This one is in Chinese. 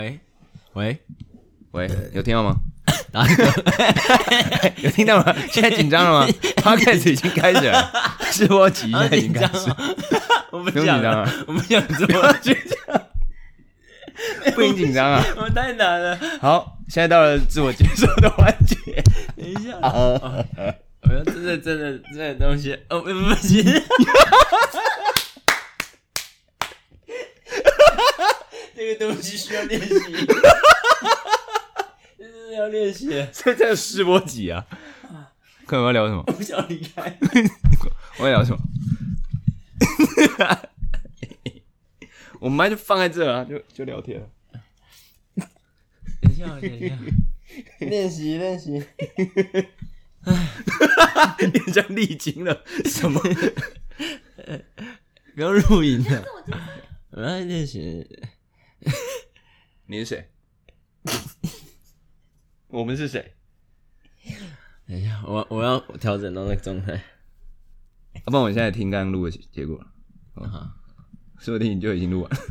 喂， 有听到吗？有听到吗？现在紧张了吗？Podcast 已经开始了，试播集现在已经开始， 我不不用紧张啊， 我不想做， 不用紧张啊。 我太难了。 好，现在到了自我介绍的环节。 等一下，我要真的东西，不行。这个东西需要练习，真的要练习。 所以这个试播集啊，看我要聊什么？ 我不想离开。 我要聊什么？我们麦就放在这啊，就聊天了。 等一下，练习。 你像历经了什么？ 不要录影了，我要练习。 你是谁？我们是谁？ 等一下，我要调整到那个状态。 要不然我现在听刚刚录的结果了。好，说不定你就已经录完了。